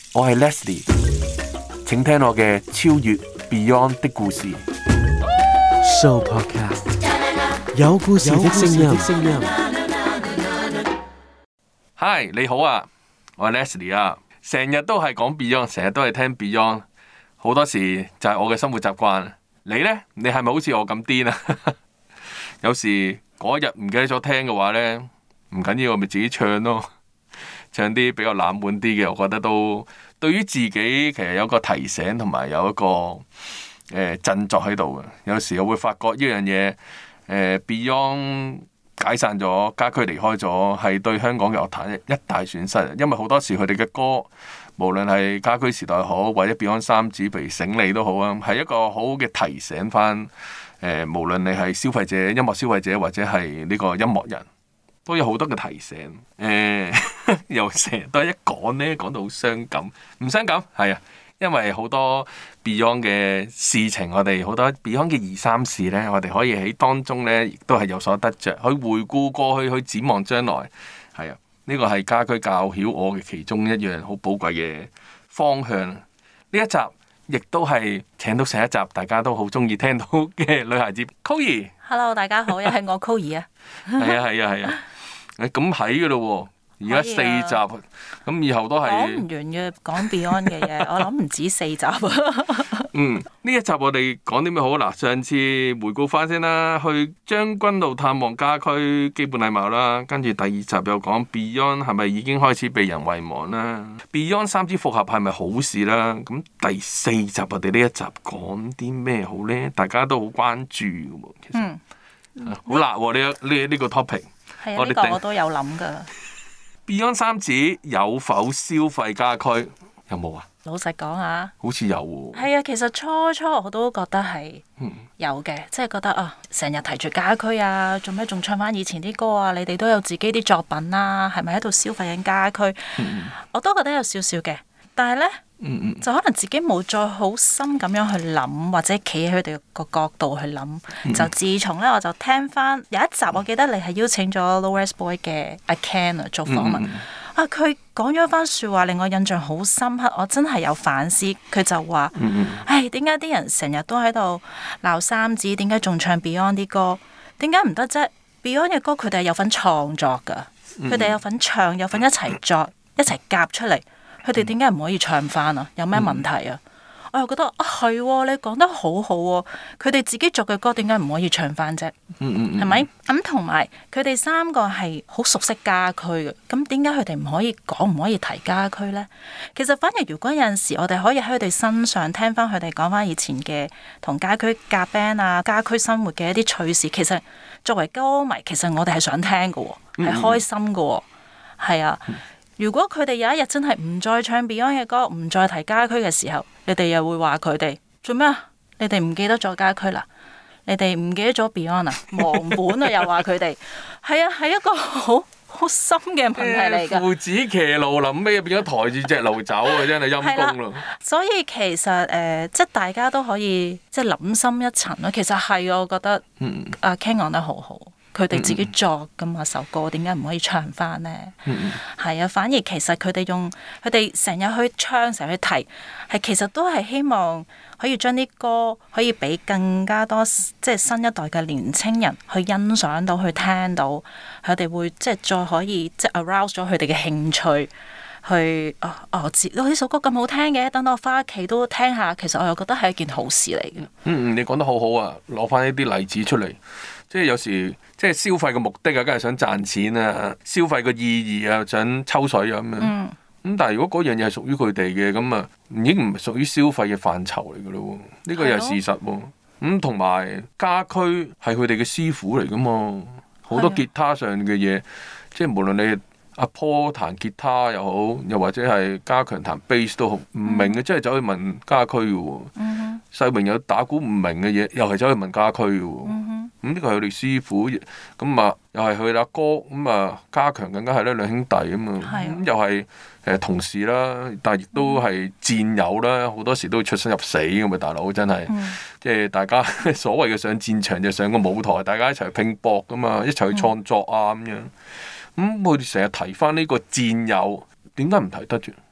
我係 Leslie， 請聽我嘅超越 Beyond 的故事。 Show Podcast 有故事的聲音。 Hi， 你好啊，我係 Leslie 啊，成日都係講 Beyond， 成日都係聽 Beyond， 好多時就係我嘅生活習慣。你呢？你係咪好似我咁癲啊？有時嗰日唔記得咗聽嘅話呢，唔緊要，我咪自己唱咯，唱啲比較冷門啲嘅，我覺得都對於自己其實有個提醒同埋有一個振作喺度嘅。有時我會發覺呢樣嘢，Beyond 解散咗，家駒離開咗，係對香港嘅樂壇一大損失。因為好多時佢哋嘅歌，無論係家駒時代好，或者 Beyond 三子譬如醒你都好啊，係一個好好嘅提醒翻。無論你係消費者、音樂消費者或者係呢個音樂人，都有好多嘅提醒。又成日都一講呢，講到好傷感，唔傷感係啊，因為好多 Beyond 嘅事情，我哋好多 Beyond 嘅二三事呢，我哋可以喺當中呢，亦都係有所得着，去回顧過去，去展望將來。係啊，呢個係家駒教曉我嘅其中一樣好寶貴嘅方向。呢一集亦都係請到上一集大家都好中意聽到嘅女孩子 Coir。Hello， 大家好，又係我 Coir 啊。 係啊。咁喺噶咯喎，而家4集，咁以後都係講唔完嘅，講 Beyond 嘅嘢，我諗唔止4集啊。 呢一集我哋講啲咩好？嗱，上次回顧翻先啦，去將軍澳探望家駒，基本禮貌啦。跟住第2集又講 Beyond 係咪已經開始被人遺忘啦？ Beyond 三子復合係咪好事啦？咁第4集我哋呢一集講啲咩好呢？大家都好關注嘅喎，其實好辣喎呢個 topic。 係啊，呢個我都有諗噶。 Beyond 三子有否消費家駒？有冇啊？ 老實講啊， 好似有喎。 係啊，其實初我都覺得係有嘅，即係覺得啊，成日提住家駒啊，做咩仲唱翻以前啲歌啊？你哋都有自己啲作品啦，係咪喺度消費緊家駒？我都覺得有少少嘅，但係呢，就可能自己冇再好深咁樣去諗，或者企喺佢哋個角度去諗。就自從呢，我就聽翻有一集，我記得你係邀請咗 Lowest Boy 嘅阿 Ken 做訪問。佢講咗一番説話，令我印象好深刻。我真係有反思。佢就話：唉，點解啲人成日都喺度鬧三子？點解仲唱 Beyond 啲歌？點解唔得啫 ？Beyond 嘅歌佢哋係有份創作㗎，佢哋有份唱，有份一齊作，一齊夾出嚟。佢哋點解唔可以唱翻啊？有咩問題啊？我又覺得係你講得好好喎。佢哋自己作嘅歌點解唔可以唱翻啫？係咪？咁同埋佢哋3個係好熟悉家駒嘅，咁點解佢哋唔可以講，唔可以提家駒呢？其實反而如果有陣時我哋可以喺佢哋身上聽翻佢哋講翻以前嘅同家駒夾 band 啊、家駒生活嘅一啲趣事，其實作為歌迷，其實我哋係想聽嘅喎，係開心嘅喎，係啊。如果佢哋有一日真係唔再唱 Beyond 嘅歌，唔再提家駒嘅時候，你哋又會話佢哋做咩啊？你哋唔記得咗家駒啦？你哋唔記得咗 Beyond 啊？忘本啊？又話佢哋係啊，係一個好深嘅問題嚟㗎。 父子騎驢臨尾變咗抬住隻驢走啊！真係陰公咯。 所以其實即係大家都可以即係諗深一層咯。其實係我覺得阿 Ken 講得好好。佢哋自己作㗎嘛首歌，點解唔可以唱翻呢？係啊，反而其實佢哋成日去唱，成日去提，係其實都係希望可以將啲歌可以俾更加多即係新一代嘅年青人去欣賞到，去聽到，佢哋會即係再可以即係 arouse 咗佢哋嘅興趣。去我知呢首歌咁好聽嘅，等到我翻屋企都聽下。其實我又覺得係一件好事嚟嘅。 你講得好好啊！攞翻一啲例子出嚟，即係有時即係消費嘅目的啊，梗係想賺錢啊，消費嘅意義啊，想抽水啊咁樣。咁但係如果嗰樣嘢係屬於佢哋嘅，咁啊已經唔係屬於消費嘅範疇嚟㗎咯。呢個又係事實喎。咁同埋家駒係佢哋嘅師傅嚟㗎嘛，好多吉他上嘅嘢，即係無論你阿 Paul 彈吉他又好，又或者係家強彈 bass 都好，唔明嘅真係走去問家駒嘅喎。世榮有打鼓唔明嘅嘢，又係走去問家駒嘅喎。咁呢個係佢哋師傅，咁啊又係佢阿哥，咁啊家強更加係咧兩兄弟啊嘛。咁又係同事啦，但係亦都係戰友啦，好多時都會出生入死咁嘛，大佬真係。即係大家所謂嘅上戰場就上個舞台，大家一齊拼搏噶嘛，一齊去創作啊咁樣。咁佢哋成日提翻呢個戰友，點解唔提得住？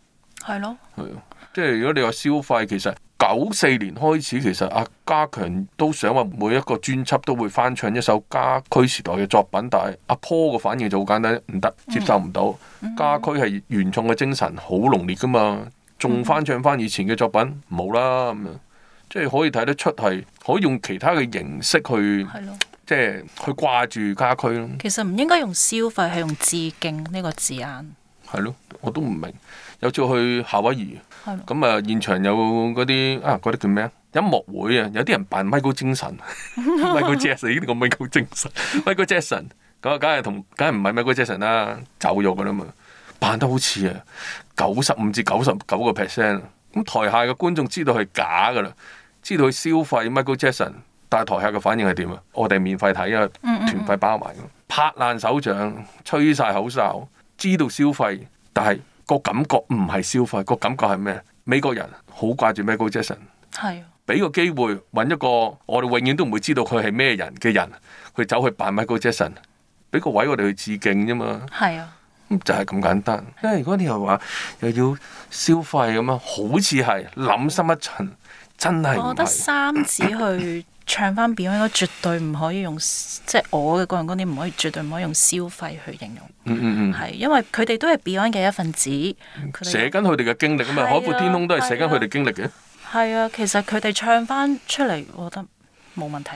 係咯， 係啊，即係如果你話消費，其實94年開始，其實阿家強都想話每一個專輯都會翻唱一首家駒時代嘅作品，但係阿 Paul 個反應就好簡單，唔得，接受唔到。家駒係原創嘅精神好濃烈噶嘛，仲翻唱翻以前嘅作品冇啦咁樣，即係可以睇得出係可以用其他嘅形式去，即係去掛住家駒咯。 其實唔應該用消費，係用致敬呢個字眼。 係咯，我都唔明。有次去夏威夷，咁啊現場有嗰啲嗰啲叫咩啊？音樂會啊，有啲人扮 Michael 精神，Michael Jackson 呢個 Michael 精神，Michael Jackson 咁梗係唔係 Michael Jackson 啦，走咗噶啦嘛，扮得好似啊95%至99%，咁台下嘅觀眾知道係假噶啦，知道佢消費 Michael Jackson， 但係台下嘅反應係點啊？我哋免費睇啊，團費包埋，拍爛手掌，吹晒口哨，知道消費，但係個感覺唔係消費，個感覺係咩？美國人好掛住 Michael Jackson， 係俾個機會揾一個我哋永遠都唔會知道佢係咩人嘅人，佢走去扮 Michael Jackson， 俾個位我哋去致敬啫嘛。係啊，就係咁簡單。因為如果你又話又要消費咁樣，好似係諗深一層，真係唔係。我覺得三子去唱翻 Beyond 應該絕對唔可以用，即係我嘅個人觀點唔可以，絕對唔可以用消費去形容。係因為佢哋都係 Beyond 嘅一份子，寫緊佢哋嘅經歷啊嘛，海闊天空都係寫緊佢哋經歷嘅。係啊，其實佢哋唱翻出嚟，我覺得冇問題。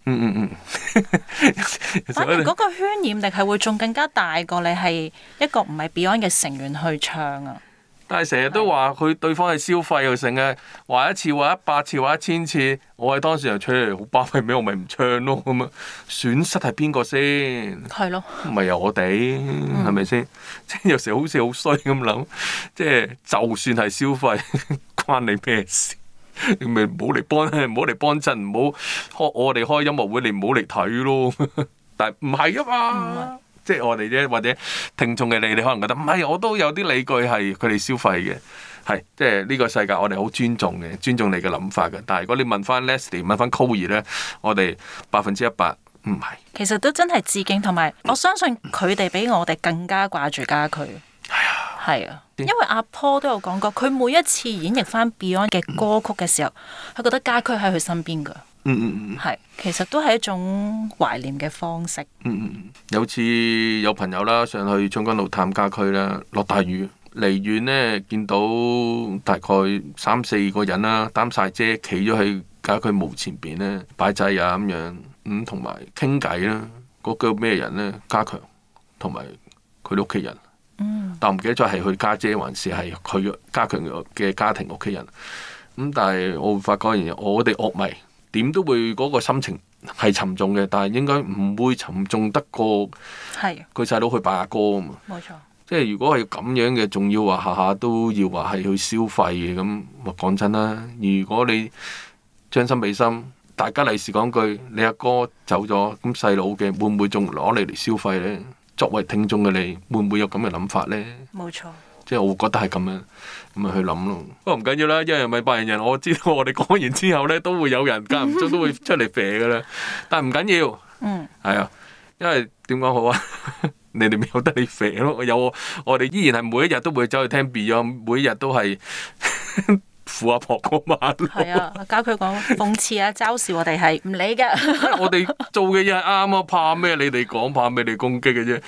反而嗰個渲染力係會仲更加大過你係一個唔係 Beyond 嘅成員去唱啊。但係成日都話佢對方係消費又成嘅，話一次話100次話1000次，我係當時又出嚟好巴閉咩？我咪唔唱咯咁啊！損失係邊個先？係咯，唔係由我哋係咪先？即係有時好似好衰咁諗，即係就算係消費，關你咩事？你咪唔好嚟幫襯，唔好開我哋開音樂會，你唔好嚟睇咯。但係唔係啊嘛？即係我哋啫，或者聽眾嘅你可能覺得唔係，我都有啲理據係佢哋消費嘅，係即係呢個世界我哋好尊重嘅，尊重你嘅諗法嘅。但係如果你問翻 Leslie 問翻 Coir 咧，我哋100%唔係。其實都真係致敬，同埋我相信佢哋比我哋更加掛住家駒。係啊，因為阿 Paul 都有講過，佢每一次演繹翻 Beyond 嘅歌曲嘅時候，佢覺得家駒喺佢身邊㗎。係，其實都係一種懷念嘅方式。有次有朋友啦上去將軍澳探家駒啦，落大雨，離遠呢見到大概3-4個人啦，擔晒遮，企咗喺家駒墓前邊呢，擺祭啊咁樣，同埋傾偈啦。嗰個咩人呢？家強同埋佢哋屋企人。但唔記得咗係佢家姐還是係佢家強嘅家庭屋企人。但係我會發覺一樣嘢，我哋樂迷點都會嗰個心情係沉重嘅，但係應該唔會沉重得過佢細佬去拜阿哥啊嘛。冇錯，即係如果係咁樣嘅，仲要話下下都要話係去消費嘅咁，講真啦。如果你將心比心，大家利是講句，你阿哥走咗，咁細佬嘅會唔會仲攞你嚟消費呢？作為聽眾嘅你，會唔會有咁嘅諗法呢？冇錯，即係我會覺得係咁樣咁去諗咯。不過唔緊要啦，一人咪百人，我知道我哋講完之後呢，都會有人間唔中都會出嚟肥噶啦。但係唔緊要，係啊，因為點講好啊？你哋咪有得你肥咯。我哋依然係每一日都會走去聽 Beyond，每一日都係扶阿婆過馬路。係啊，家駒講諷刺啊，嘲笑我哋係唔理㗎。我哋做嘅嘢係啱啊，怕咩？你哋講，怕咩？你攻擊嘅啫。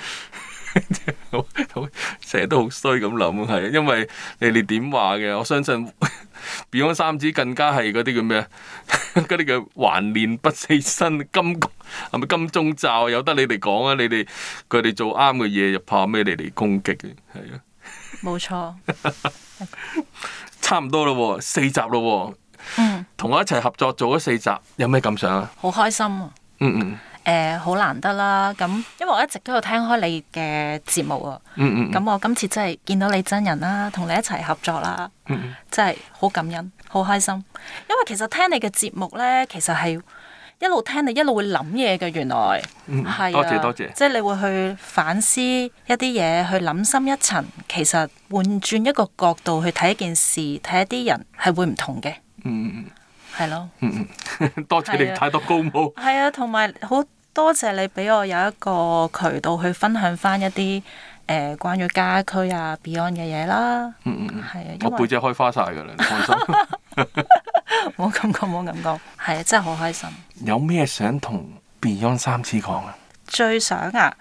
成日都好衰咁諗，係因為你哋點話嘅？我相信 Beyond 三子更加係嗰啲叫咩？嗰啲叫還念不死身金，係咪金鐘罩？有得你哋講啊！你哋佢哋做啱嘅嘢，又怕咩？你哋攻擊嘅係啊。冇錯。差唔多咯，4集咯，同我一齊合作做咗4集，有咩感想啊？好開心啊！好難得啦，咁因為我一直都有聽開你嘅節目啊，咁我今次真係見到你真人啦，同你一齊合作啦，真係好感恩，好開心。因為其實聽你嘅節目呢，其實係一路聽你一路會諗嘢嘅，原來係多謝多謝，即係你會去反思一啲嘢，去諗深一層，其實換轉一個角度去睇一件事，睇一啲人係會唔同嘅。係咯。多謝你太多高帽。係啊，同埋好多謝你俾我有一個渠道去分享翻一啲關於家駒啊 Beyond 嘅嘢啦。係啊， 我背脊開花晒㗎啦，你放心。 冇咁講，冇咁講，係啊，真係好開心。 有咩想同 Beyond 三子講啊？ 最想啊，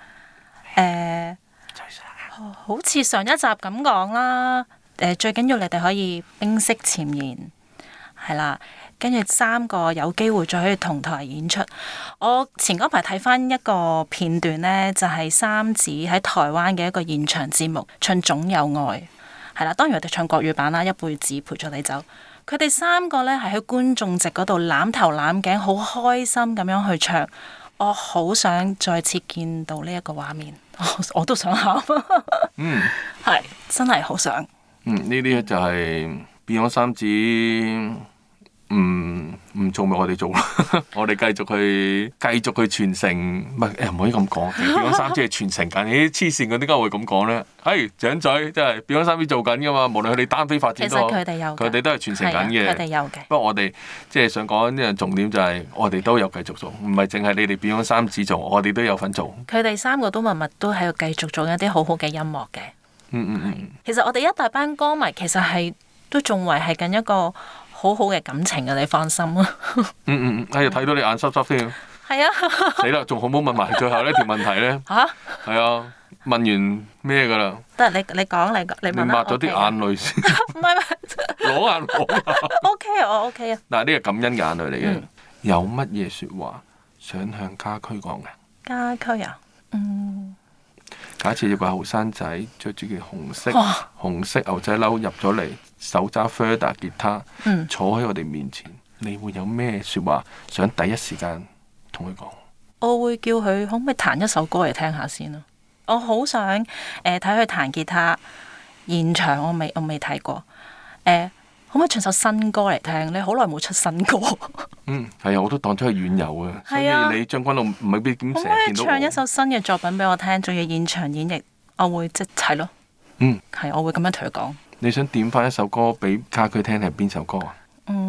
好似上一集咁講啦。最緊要你哋可以冰釋前嫌，係啦。跟住3個有機會再可以同台演出。我前嗰排睇翻一個片段呢，就係三子喺台灣嘅一個現場節目唱《總有愛》，係啦。當然我哋唱國語版啦，《一輩子陪咗你走》。佢哋3個呢係喺觀眾席嗰度攬頭攬頸，好開心咁樣去唱。我好想再次見到呢一個畫面，我都想喊。係真係好想。 呢啲就係 Beyond 三子。唔做咪我哋做咯，我哋繼續去傳承，唔可以咁講。Beyond 三子係傳承緊，啲黐線嗰點解會咁講咧？長仔真係 Beyond 三子做緊噶嘛，無論佢哋單飛發展都好， 其實佢哋有， 佢哋都係傳承緊嘅。 佢哋有嘅。 不過我哋即係想講呢個重點就係，我哋都有繼續做，唔係淨係你哋 Beyond 三子做，我哋都有份做。 佢哋3個都默默都喺度繼續做一啲好好嘅音樂嘅。其實我哋一大班歌迷其實係都仲維繫緊一個好好嘅感情嘅，你放心啊！ 睇到你眼濕濕添。 係啊！ 死啦，仲好唔好問埋最後呢條問題咧？ 嚇！ 係啊，問完咩㗎啦？ 得你講你問啦。 抹咗啲眼淚先。 唔係攞眼攞。 OK 我 OK 啊。 嗱，呢個感恩嘅眼淚嚟嘅。有乜嘢説話想向家駒講嘅？ 家駒啊， 假設有個後生仔着住件紅色牛仔褸入咗嚟，手揸 Fender 吉他，坐喺我哋面前，你會有咩説話想第一時間同佢講？ 我會叫佢可唔可以彈一首歌嚟聽下先咯。我好想睇佢彈吉他現場，我未睇過。可唔可以唱首新歌嚟聽？你好耐冇出新歌。 係啊，我都當咗係遠遊啊。所以你將軍澳唔係必點成日見到我。可唔可以唱一首新嘅作品俾我聽？仲要現場演繹，我會即係咯。係，我會咁樣同佢講。 你想點翻一首歌俾家駒聽係邊首歌啊？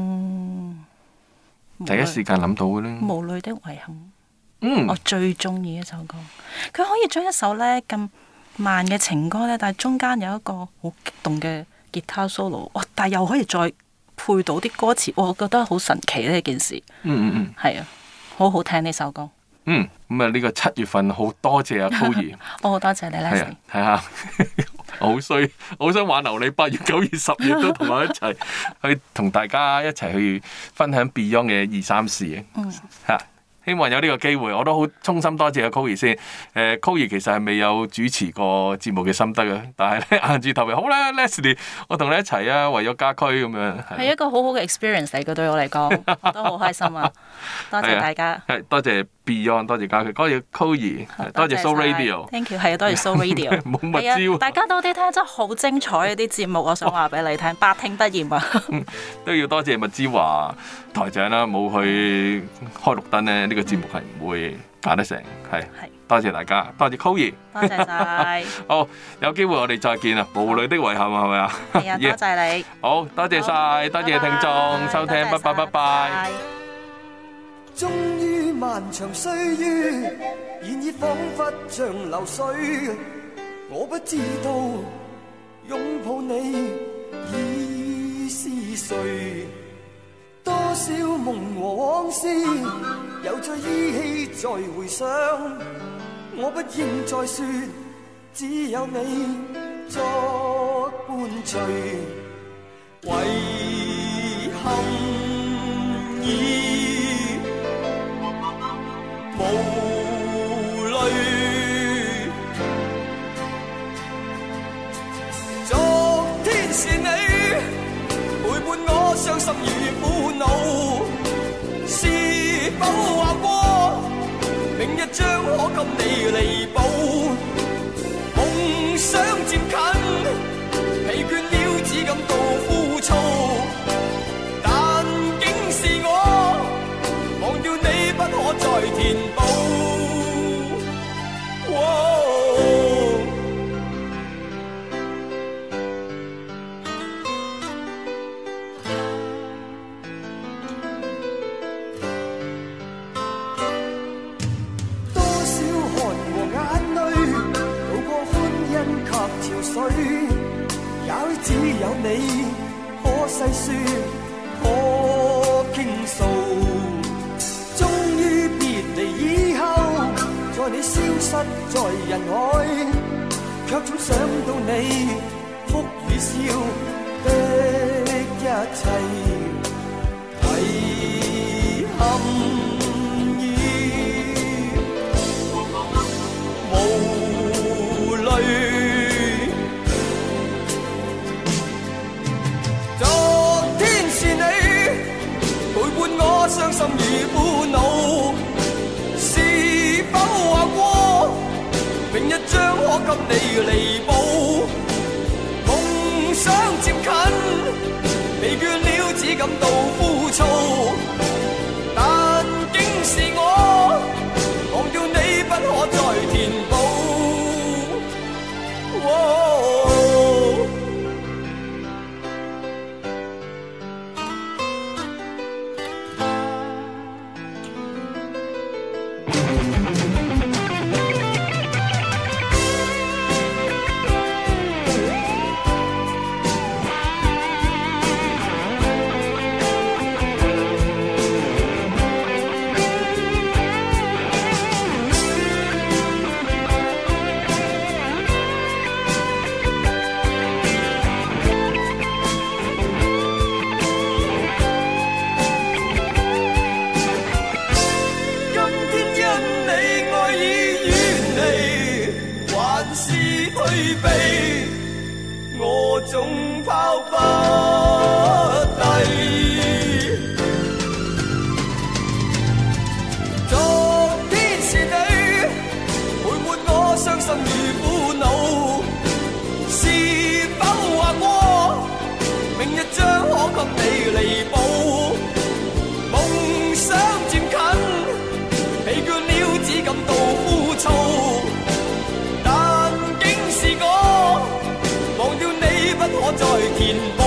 第一時間諗到嘅咧。無淚的遺憾。 我最中意一首歌。佢可以將一首咧咁慢嘅情歌咧，但係中間有一個好激動嘅吉他 solo， 但係又可以再配到啲歌詞，我覺得好神奇呢件事。係啊，好好聽呢首歌。 咁啊，呢個7月份好多謝阿 Chloe。 我好多謝你 Leslie。 睇下，好衰，好想挽留你8月、9月、10月都同我一齊去同大家一齊去分享 Beyond 嘅2、3事。希望有呢個機會，我都好衷心多謝阿 Chloe 先。Chloe 其實係未有主持過節目嘅心得嘅，但係咧硬住頭皮好啦 ，Leslie， 我同你一齊啊，為咗家駒咁樣。係一個好好嘅 experience 嚟嘅，對我嚟講，我都好開心啊！多謝大家。多謝 Beyond， 多謝家駒，多謝 Chloe， 多謝 So Radio。Thank you， 係多謝 So Radio。冇乜招。大家多啲聽，真係好精彩嗰啲節目，我想話俾你聽，百聽不厭啊！都要多謝麥之華台長啦，冇去開綠燈咧。呢個節目係唔會搞得成，係多謝大家，多謝 Chloe， 多謝晒。好，有機會我哋再見啊！無淚的遺憾係咪啊？係啊，多謝你。好多謝晒，多謝聽眾收聽，拜拜拜拜。終於漫長歲月，然而彷彿像流水，我不知道擁抱你已是誰。多少夢和往事，又再依稀再回想。我不應再說，只有你作伴隨。遺憾已無淚，昨天是你陪伴我傷心與苦惱，是否話過明日將可給你彌補？夢想漸近，疲倦了只感到枯燥，但竟是我忘掉你不可再填補。 有你可細說可傾訴，終於別離以後，在你消失在人海，卻總想到你哭與笑的一切，遺憾意無淚。傷心與苦惱，是否話過明日將可給你彌補？夢想漸近，疲倦了只感到枯燥，但竟是我忘掉你不可再填補。我總拋不低，昨天是你陪伴我傷心與苦惱，是否話過明日將可給你彌補？夢想漸近，疲倦了只感到枯燥，但竟是我忘掉你不可再填補。